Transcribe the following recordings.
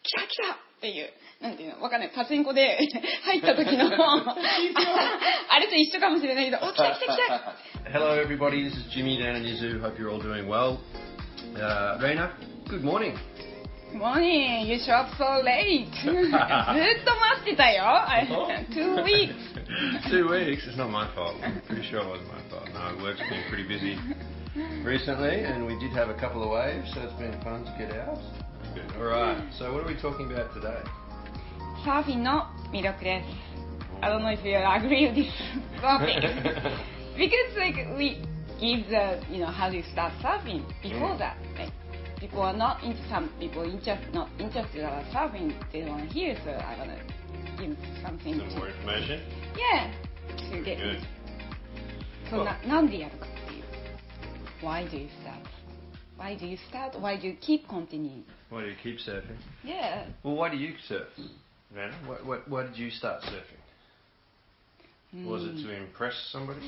来た来たっていう、なんていうの、わかんない、パチンコで入った時のあれと一緒かもしれないけど、お、来た来た来た。 Hello everybody, this is Jimmy down in Izu. Hope you're all doing well. Reina, good morning. Good morning. You show up so late. ずっと待ってたよ。2 weeks. 2 weeks? It's not my fault. I'm pretty sure it wasn't my fault. No, work's been pretty busy recently, and we did have a couple of waves, so it's been fun to get out. Good. All right. So what are we talking about today? サーフィンの魅力です。I don't know if you agree with this topic. Because like we give the, you know, how do you start surfing before that. Like, people are not into, some people not interested about surfing, they don't want to hear, so I want to give something. Some more information? Yeah. To get Good. そんな、なんでやるかっていう。Why do you start? Why do you start? Why do you keep continuing? Why do you keep surfing? Yeah. Well, why do you surf, Vanna? Why did you start surfing? Was it to impress somebody?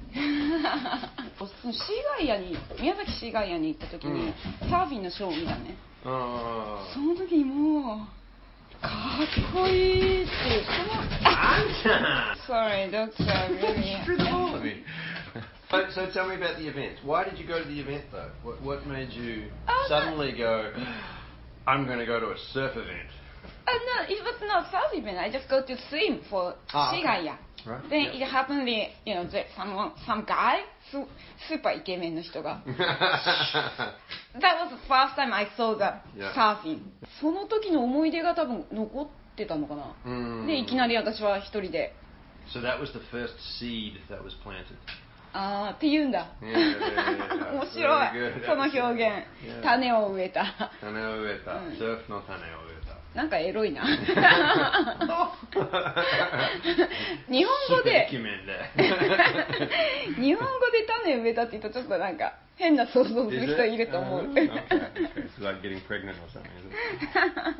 シーガイアに、宮崎シーガイアに行った時に、サーフィンのショーを見たね。その時にもう、かっこいいっていう、Sorry, that's really... So tell me about the event. Why did you go to the event though? What made you suddenly go, I'm going to go to a surf event? No, it was not surf event. I just go to swim for Shigaya. Right. Then it happened, you know, that some guy, super イケメンの人が。That was the first time I saw the surfing. その時の思い出が多分残ってたのかな。で、いきなり私は一人で。 So that was the first seed that was planted. あーって言うんだ。面白い。その表現。種を植えた。 種を植えた。surf の種を植えた。 なんかエロいな。日本語で日本語で種植えたって言うとちょっとなんか変な想像する人いると思う。 Okay. It's like getting pregnant or something, isn't it?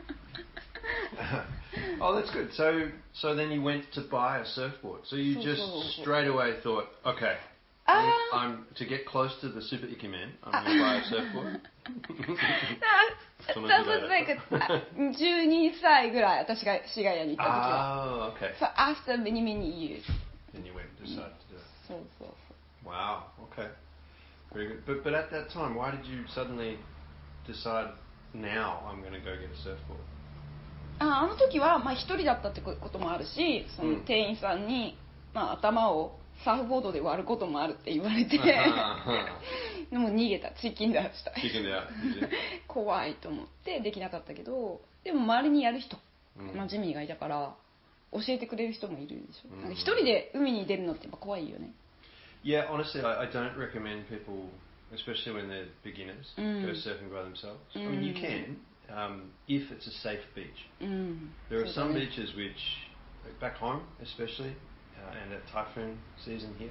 Oh, that's good. So then you went to buy a surfboard. So you just straight away thought, okay, I'm to get close to the super ikemen, I'm going to buy a surfboard. That was like 12歳ぐらい私がシガヤに行った時 Oh, は。 okay. So after many years. Then you went and decided to do it. そうそうそう。 Wow. Okay. Very good. But at that time, why did you suddenly decide now I'm going to go get a surfboard? あの時はまあ一人だったってこともあるし、その店員さんにまあ頭をサーフボードで割ることもあるって言われて、でも逃げた、チキンダウした。怖いと思ってできなかったけど、でも周りにやる人、まあジミーがいたから教えてくれる人もいるでしょ。なんか一人で海に出るのってやっぱ怖いよね。 Yeah, honestly, I don't recommend people, especially when they're beginners, go surfing by themselves. I mean, you can, if it's a safe beach. There are some beaches which, back home especially, and at typhoon season here,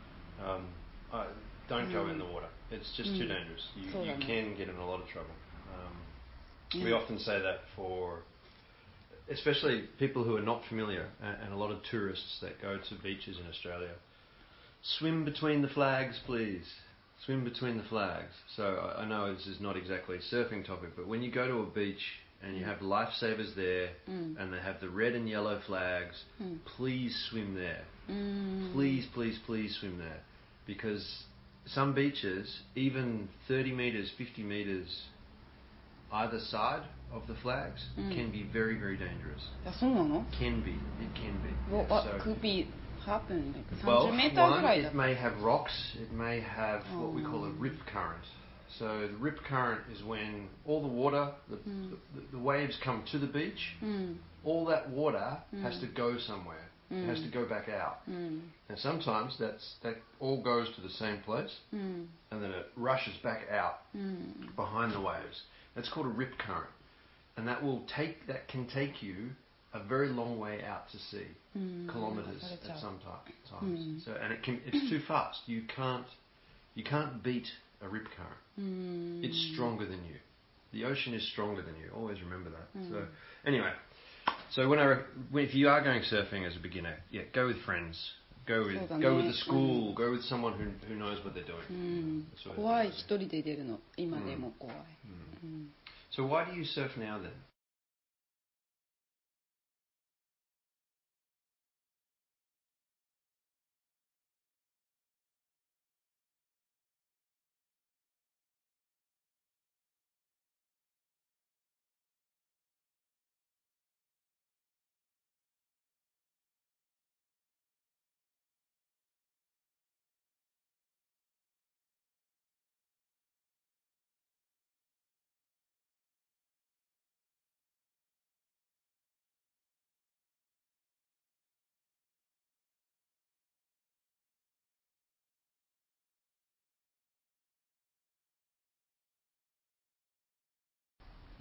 don't go in the water. It's just too dangerous. You can get in a lot of trouble. We often say that for, especially people who are not familiar, and a lot of tourists that go to beaches in Australia. Swim between the flags, please. Swim between the flags. So I know this is not exactly a surfing topic, but when you go to a beach and you have lifesavers there and they have the red and yellow flags, please swim there. Please, please, please swim there. Because some beaches, even 30 metres, 50 metres either side of the flags can be very, very dangerous. そうなの? Can be. It can be. Well, what could be happen? Like Well, 30 meter ぐらい it だった。 may have rocks, it may have what we call a rip current. So the rip current is when all the water, the waves come to the beach, all that water has to go somewhere. It has to go back out. And sometimes that all goes to the same place, and then it rushes back out behind the waves. That's called a rip current. And that can take you a very long way out to sea, kilometres at some times. So, and it's too fast. You can't beat a rip current. It's stronger than you. The ocean is stronger than you. Always remember that. So anyway, so if you are going surfing as a beginner, go with friends. Go with the school. Go with someone who knows what they're doing. 怖い、一人で出るの今でも怖い。 So why do you surf now then?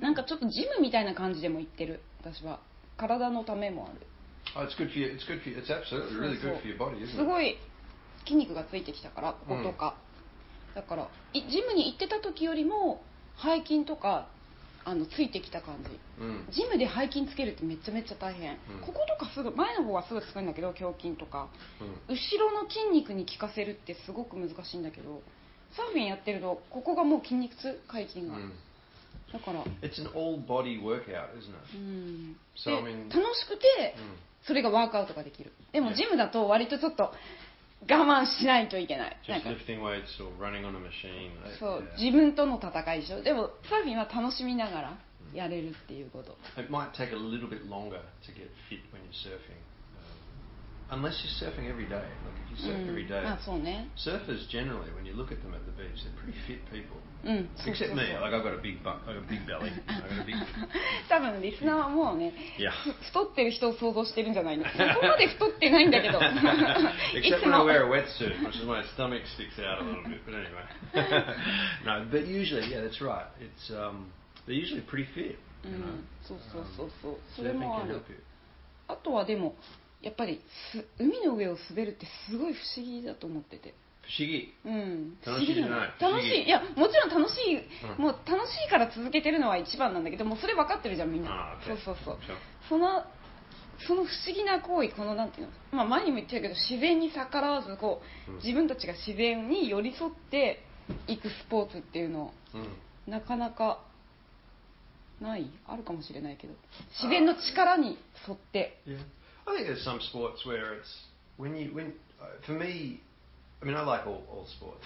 なんかちょっとジムみたいな感じでも行ってる私は。体のためもある。 Oh, it's good for you. It's good for you. It's absolutely really good for your body, isn't it? すごい筋肉がついてきたからこことか、だからジムに行ってた時よりも背筋とかついてきた感じ、ジムで背筋つけるってめちゃめちゃ大変、こことかすぐ前の方はすぐつくんだけど胸筋とか、後ろの筋肉に効かせるってすごく難しいんだけど、サーフィンやってるとここがもう筋肉痛、背筋が、だから It's an all body workout, isn't it? So, 楽しくて、それがワークアウトができる。でもジムだと割とちょっと我慢しないといけない。 Just lifting weights or running on a machine. そう、自分との戦いでしょ。でもサーフィンは楽しみながらやれるっていうこと。 It might take a little bit longer to get fit when you're surfing. Unless you're surfing every day. Like if you surf every day. そうね。 Surfers generally, when you look at them at the beach, they're pretty fit people. Except me. Like I've got a big belly. I've got a big. 多分リスナーはもうね、太ってる人を想像してるんじゃないの。そこまで太ってないんだけど。 Except when I wear a wetsuit, which is my stomach sticks out a little bit. But anyway. No, but usually, yeah, that's right. It's they're usually pretty fit. そう。それもある。あとはでも。やっぱり海の上を滑るってすごい不思議だと思ってて。 不思議。 楽しいじゃない。楽しい。いやもちろん楽しい、もう楽しいから続けてるのは一番なんだけど、もうそれ分かってるじゃんみんな。そう。その不思議な行為、このなんていうの、前にも言ってたけど自然に逆らわずこう、自分たちが自然に寄り添っていくスポーツっていうの、なかなかないあるかもしれないけど、自然の力に沿って。 I think there's some sports where it's for me, I mean I like all sports.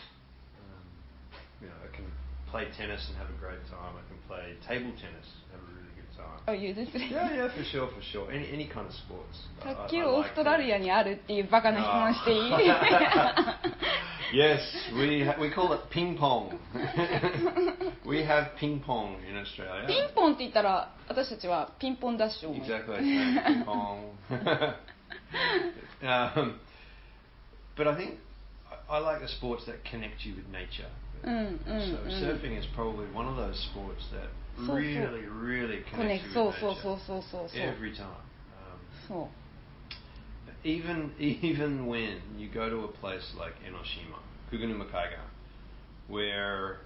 I can play tennis and have a great time. I can play table tennis and have a really good time. Oh, you do? Yeah, for sure. Any kind of sports. 卓球オーストラリアにあるっていうバカな質問していい ？Yes, we call it ping pong. We have ping pong in Australia. ピンポンって言ったら私たちはピンポンダッシュを思う。 Exactly, ping pong. But I think I like the sports that connect you with nature. So surfing is probably one of those sports that really connects you with nature. Every time. そう。 Even when you go to a place like Enoshima, Kugenumakaiga, where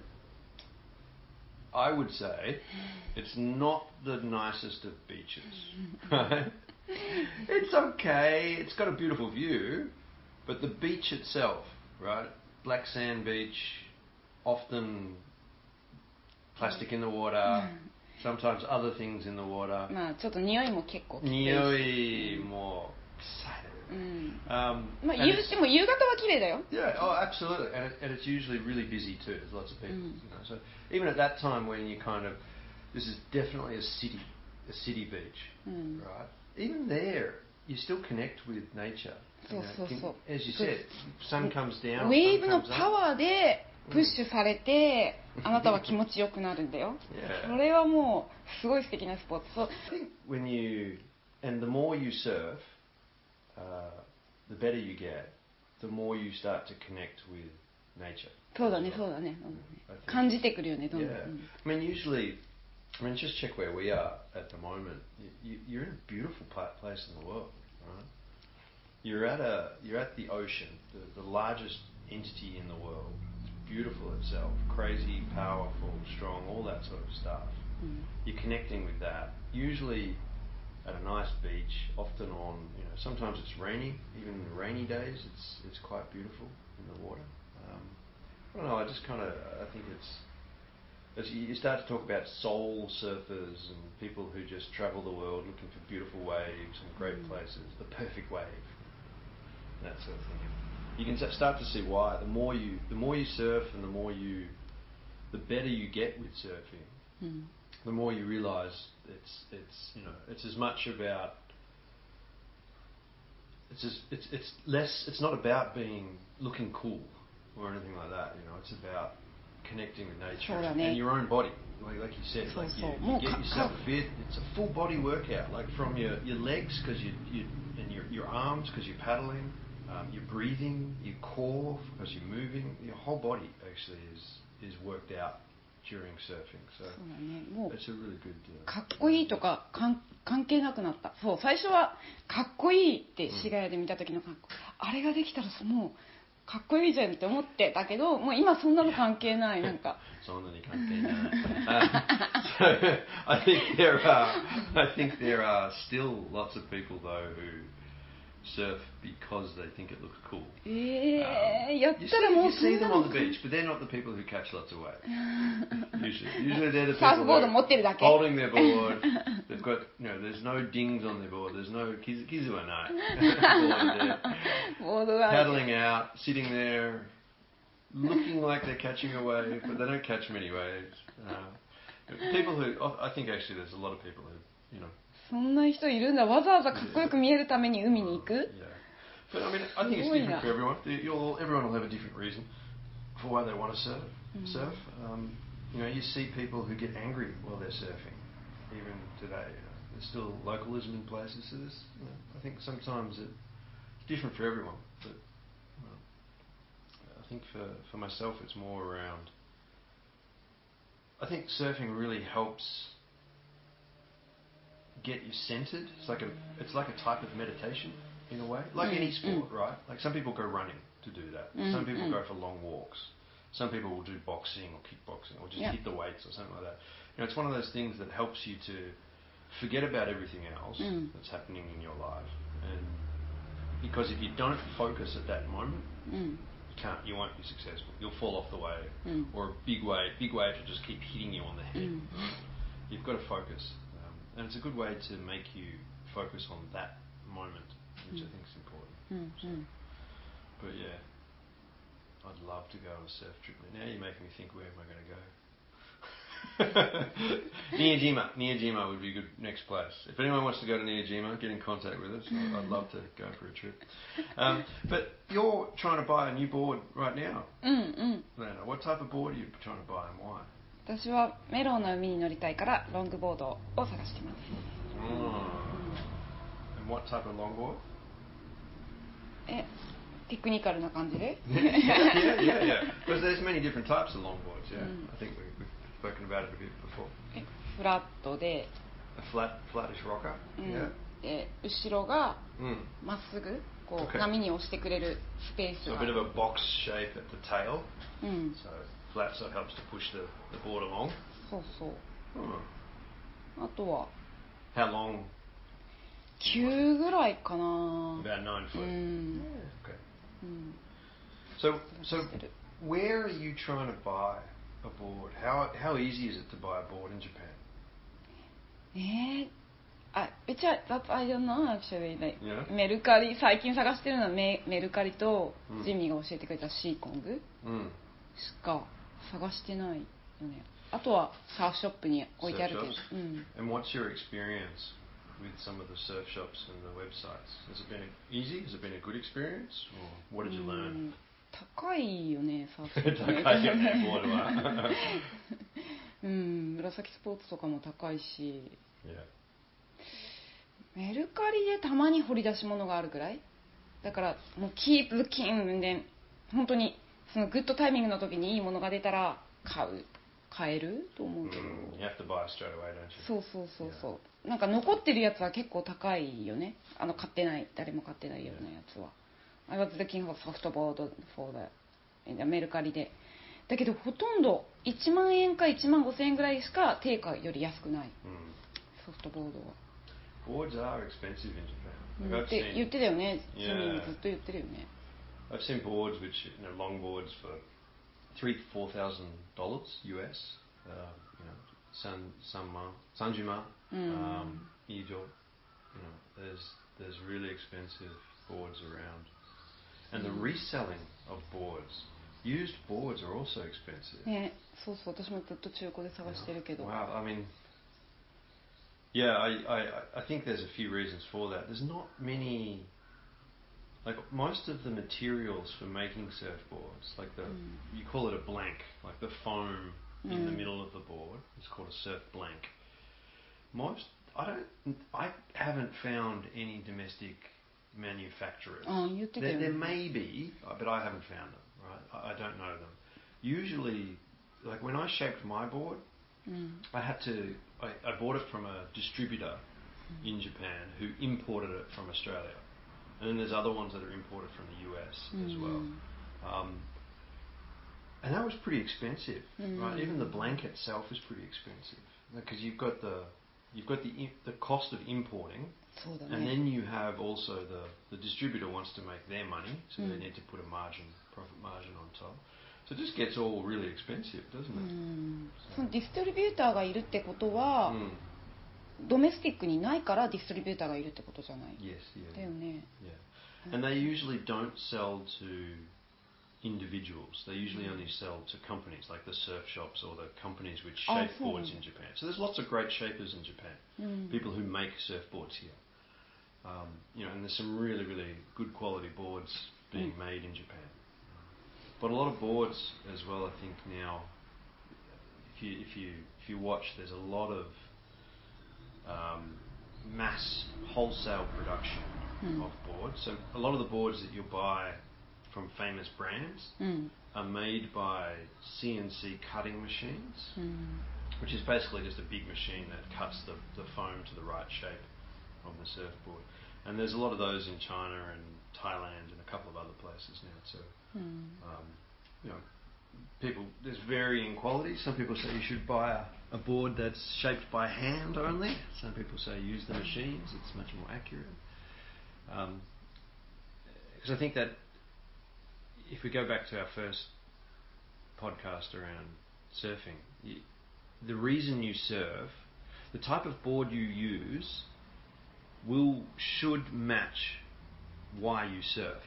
I would say it's not the nicest of beaches, right? It's okay, it's got a beautiful view, but the beach itself, right? Black sand beach, often plastic in the water, sometimes other things in the water. ちょっと匂いも結構きついし。 匂いも臭い。 でも夕方は綺麗だよ。 Yeah, absolutely, and it's usually really busy too. There's lots of people, So even at that time when you this is definitely a city beach, right? Even there, you still connect with nature. As you said, sun comes down. ウェーブのパワーでプッシュされて、あなたは気持ちよくなるんだよ。それはもうすごい素敵なスポーツ。 I think the more you surf. The better you get, the more you start to connect with nature. そうだね。感じてくるよね、どんどん。 I mean, just check where we are at the moment. You're in a beautiful place in the world, right? You're at the ocean, the largest entity in the world. It's beautiful itself, crazy, powerful, strong, all that sort of stuff. You're connecting with that. Usually at a nice beach, often on, sometimes it's rainy, even in the rainy days, it's quite beautiful in the water. I don't know, I think as you start to talk about soul surfers and people who just travel the world looking for beautiful waves and great places, the perfect wave, that sort of thing. You can start to see why. The more you surf and the better you get with surfing. The more you realise it's as much about it's not about looking cool or anything like that. It's about connecting with nature and your own body. Like you said, you get yourself fit. It's a full body workout, like from your legs because and your arms because you're paddling, your breathing, your core because you're moving. Your whole body actually is worked out during surfing. So そうだね。もう it's a really good. かっこいいとか関係なくなった。そう、最初はかっこいいって市ヶ谷で見た時の格好、あれができたらもうかっこいいじゃんって思ってたけど、もう今そんなの関係ない。なんかそんなに関係ない。So I think there are still lots of people though who surf because they think it looks cool. やったらもう You see them on the beach, but they're not the people who catch lots of waves. Usually they're the サーフ people ボード who 持ってるだ are け。 holding their board. They've got, there's no dings on their board. There's no kizu wa nai. ボードがある。 Paddling out, sitting there, looking like they're catching a wave, but they don't catch many waves. People who, I think actually there's a lot of people who, そんな人いるんだ。わざわざかっこよく見えるために海に行く。 Yeah. But I mean, I think it's different for everyone. Everyone will have a different reason for why they want to surf. You see people who get angry while they're surfing. Even today, there's still localism in places. So this, I think sometimes it's different for everyone. But I think for myself, it's more around. I think surfing really helps get you centered. It's like a type of meditation in a way, like any sport, right? Like some people go running to do that. Some people go for long walks. Some people will do boxing or kickboxing or just hit the weights or something like that. It's one of those things that helps you to forget about everything else that's happening in your life. And because if you don't focus at that moment, you won't be successful. You'll fall off the wave, or a big wave will just keep hitting you on the head. Right? You've got to focus. And it's a good way to make you focus on that moment, which I think is important. So, but yeah, I'd love to go on a surf trip. Now you're making me think, where am I going to go? Niyajima would be a good next place. If anyone wants to go to Niyajima, get in contact with us. I'd love to go for a trip. But you're trying to buy a new board right now. Lena, what type of board are you trying to buy and why? 私はメロンの海に乗りたいからロングボードを探しています。 And what type of longboard? テクニカルな感じで Yeah. Because there's many different types of longboards, yeah. I think we've spoken about it a bit before. フラットで A flattish rocker? Yeah. で後ろがまっすぐこう波に押してくれるスペース So が a bit of a box shape at the tail. うん So flat, so it helps to push the board along. そうそう。あとは How long? 9ぐらいかな。 About 9 foot. Okay. うん So where are you trying to buy a board? How easy is it to buy a board in Japan? That I don't know actually. Like, Yeah. メルカリ最近探してるのはメルカリとジミーが教えてくれたシーコングしか探してないよね。あとはサーフショップに置いてあるけど。 And what's your experience with some of the surf shops and the websites? Has it been easy? Has it been a good experience? Or what did you learn? 高いよね、サーフショップ。 高いよね、ボードは。 紫スポーツとかも高いし。 Yeah. メルカリでたまに掘り出し物があるぐらいだからもうキープキンで本当にそのグッドタイミングの時にいいものが出たら買えると思うけど、 You have to buy straight away, don't you? そうなんか残ってるやつは結構高いよね。買ってない誰も買ってないようなやつは I was looking for softboard for the メルカリでだけどほとんど1万円か1万5千円ぐらいしか定価より安くない、ソフトボードは Boards are expensive in Japan. って言ってたよね。ジミーずっと言ってるよね。 I've seen boards which, long boards for $3,000 to $4,000 US. Sanjima, Ijo. There's really expensive boards around, and the reselling of boards, used boards are also expensive. ね、そう私もずっと中古で探してるけど。 Wow, I mean. Yeah, I think there's a few reasons for that. There's not many, like most of the materials for making surfboards, like you call it a blank, like the foam in the middle of the board, it's called a surf blank. I haven't found any domestic manufacturers. There may be, but I haven't found them, right? I don't know them. Usually like when I shaped my board, I bought it from a distributor in Japan who imported it from Australia. And then there's other ones that are imported from the US as well. And that was pretty expensive, right? Even the blanket itself is pretty expensive because you've got the cost of importing, and then you have also the distributor wants to make their money, so they need to put a profit margin on top. So it just gets all really expensive, doesn't it? そのディストリビューターがいるってことは、ドメスティックにないからディストリビューターがいるってことじゃない。 Yes, yeah. だよね。 Yeah. And they usually don't sell to individuals. They usually only sell to companies like the surf shops or the companies which shape boards in Japan. So there's lots of great shapers in Japan, people who make surfboards here. And there's some really, really good quality boards being made in Japan. But a lot of boards as well, I think now, if you watch, there's a lot of mass wholesale production of boards. So a lot of the boards that you'll buy from famous brands are made by CNC cutting machines, which is basically just a big machine that cuts the foam to the right shape of the surfboard. And there's a lot of those in China and Thailand and a couple of other places now too. There's varying quality. Some people say you should buy a board that's shaped by hand only. Some people say use the machines, it's much more accurate. Because I think that if we go back to our first podcast around surfing, the reason you surf, the type of board you use should match why you surf.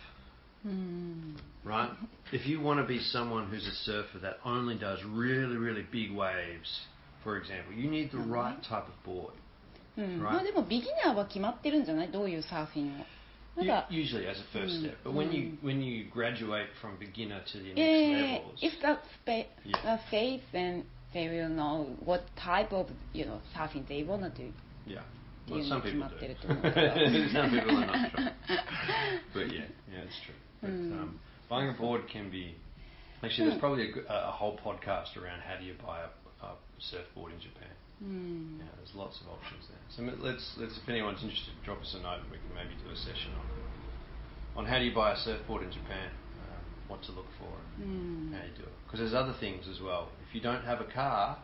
Right? If you want to be someone who's a surfer that only does really, really big waves, for example, you need the right type of board. Right? まあでもビギナーは決まってるんじゃない？どういうサーフィンを。 Usually as a first step, but when you graduate from beginner to the next levels, if that's the phase, then they will know what type of surfing they want to do. Yeah, well, some people do. Some people are not sure. But yeah, it's true. But buying a board can be actually there's probably a whole podcast around how do you buy a surfboard in Japan. There's lots of options there. So let's if anyone's interested, drop us a note and we can maybe do a session on how do you buy a surfboard in Japan, what to look for, and how you do it. Because there's other things as well. If you don't have a car,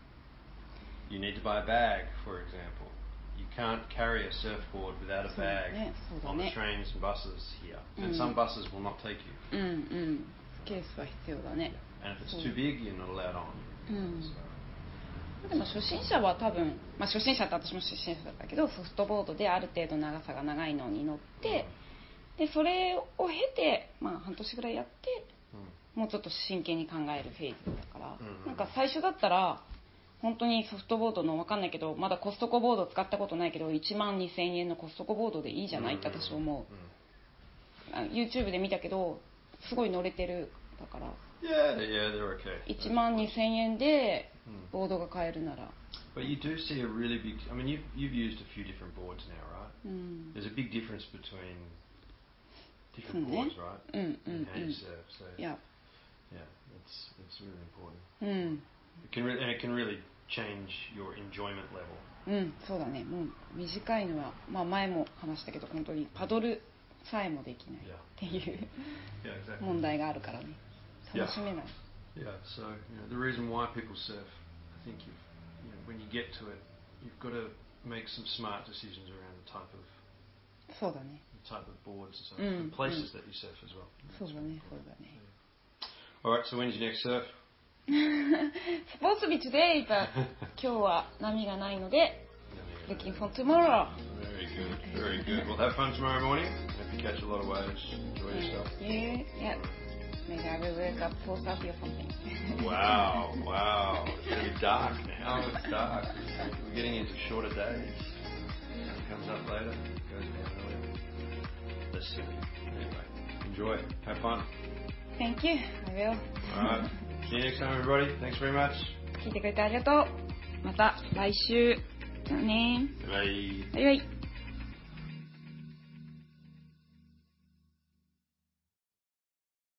you need to buy a bag, for example. You can't carry a surfboard without a bag on the trains and buses here. And some buses will not take you. ケースは必要だね。 And if it's too big, you're not allowed on. でも初心者は多分、初心者って私も初心者だったけどソフトボードである程度長さが長いのに乗って、でそれを経て、半年ぐらいやって、もうちょっと真剣に考えるフェーズだから、なんか最初だったら本当にソフトボードの分かんないけどまだコストコボード使ったことないけど12,000円のコストコボードでいいじゃないって私は思う。YouTube で見たけどすごい乗れてるだから。 Yeah, they're okay. 12,000円でボードが買えるなら。 But you do see a really big. I mean, you've used a few different boards now, right? There's a big difference between different boards, right? And how you surf. So yeah, it's really important. It can really change your enjoyment level. そうだね。もう短いのは前も話したけど本当にパドルさえもできないっていう問題があるからね。楽しめない。 Yeah, so the reason why people surf, I think when you get to it, you've got to make some smart decisions around the type of そうだね。 the type of boards and stuff, and places that you surf as well. そうだね、そうだね。 All right, so when's your next surf? Supposed to be today, but 今日は波がないので looking for tomorrow. Very good, very good. Well, have fun tomorrow morning. Hope you catch a lot of waves. Enjoy yourself. Yeah. Maybe I will wake up 4:30 or something. Wow. It's going to be dark now. It's dark. We're getting into shorter days. It comes up later. It goes down earlier. That's silly. Anyway, enjoy. Have fun. Thank you. I will. Alright. See you next time, everybody. Thanks very much. 聞いてくれてありがとう。また来週。だね。 バイバイ。 バイバイ。